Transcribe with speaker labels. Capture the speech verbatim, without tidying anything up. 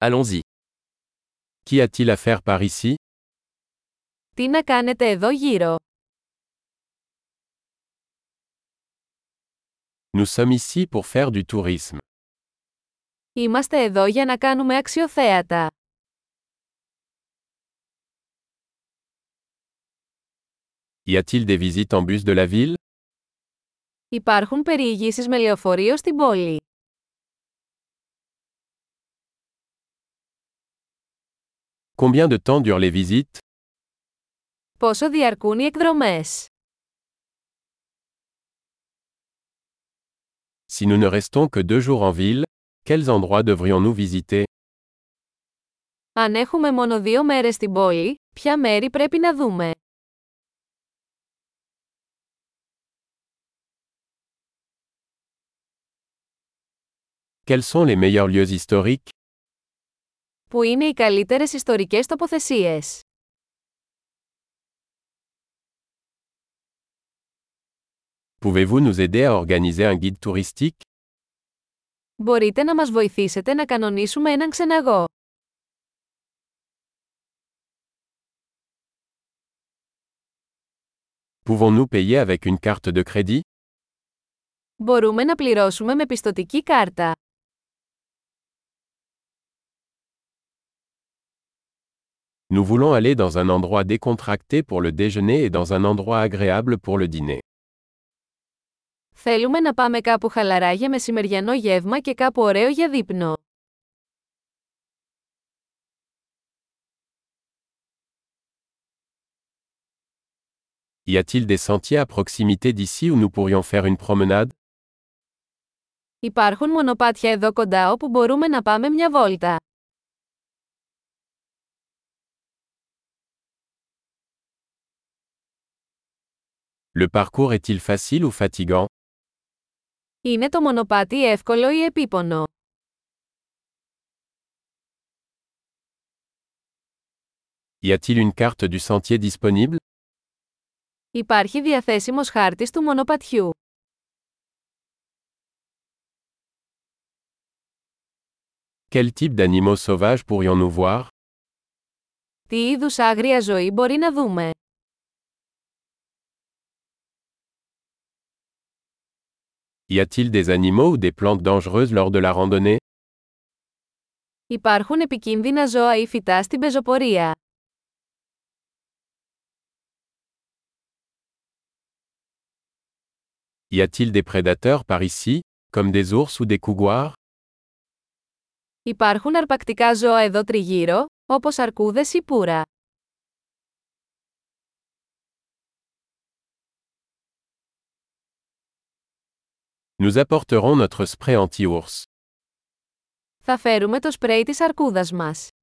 Speaker 1: Allons-y. Qu'y a-t-il à faire par ici?
Speaker 2: Τι να κάνετε εδώ γύρω?
Speaker 1: Nous sommes ici pour faire du tourisme.
Speaker 2: Είμαστε εδώ για να κάνουμε αξιοθέατα.
Speaker 1: Y a-t-il des visites en bus de la ville?
Speaker 2: Υπάρχουν περιηγήσεις με λεωφορείο στην πόλη.
Speaker 1: Combien de temps durent les visites?
Speaker 2: Πόσο διαρκούν οι εκδρομές?
Speaker 1: Si nous ne restons que deux jours en ville, quels endroits devrions-nous visiter?
Speaker 2: Αν έχουμε μόνο δύο μέρες στην πόλη, ποια μέρη πρέπει να δούμε?
Speaker 1: Quels sont les meilleurs lieux historiques?
Speaker 2: Πού είναι οι καλύτερες ιστορικές τοποθεσίες?
Speaker 1: Pouvez-vous nous aider à organiser un guide touristique?
Speaker 2: Μπορείτε να μας βοηθήσετε να κανονίσουμε έναν ξεναγό.
Speaker 1: Pouvons-nous payer avec une carte de crédit?
Speaker 2: Μπορούμε να πληρώσουμε με πιστωτική κάρτα.
Speaker 1: Nous voulons aller dans un endroit décontracté pour le déjeuner et dans un endroit agréable pour le dîner.
Speaker 2: Θέλουμε να πάμε κάπου χαλαρά για μεσημεριανό γεύμα και κάπου ωραίο για δείπνο.
Speaker 1: Y a-t-il des sentiers à proximité d'ici où nous pourrions faire une promenade?
Speaker 2: Υπάρχουν μονοπάτια εδώ κοντά όπου μπορούμε να πάμε μια βόλτα.
Speaker 1: Le parcours est-il facile ou fatigant?
Speaker 2: Είναι το μονοπάτι εύκολο ή επίπονο?
Speaker 1: Y a-t-il une carte du sentier disponible?
Speaker 2: Υπάρχει διαθέσιμος χάρτης του μονοπατιού.
Speaker 1: Quel type d'animaux sauvages pourrions-nous voir?
Speaker 2: Τι είδους άγρια ζωή μπορεί να δούμε?
Speaker 1: Y a-t-il des animaux ou des plantes dangereuses lors de la randonnée?
Speaker 2: Υπάρχουν επικίνδυνα ζώα ή φυτά στην πεζοπορία.
Speaker 1: Y a-t-il des prédateurs par ici, comme des ours ou des couguars?
Speaker 2: Υπάρχουν αρπακτικά ζώα εδώ τριγύρω, όπως αρκούδες ή πουρα.
Speaker 1: Nous apporterons notre spray anti-ours.
Speaker 2: Θα φέρουμε το σπρέι της αρκούδας μας.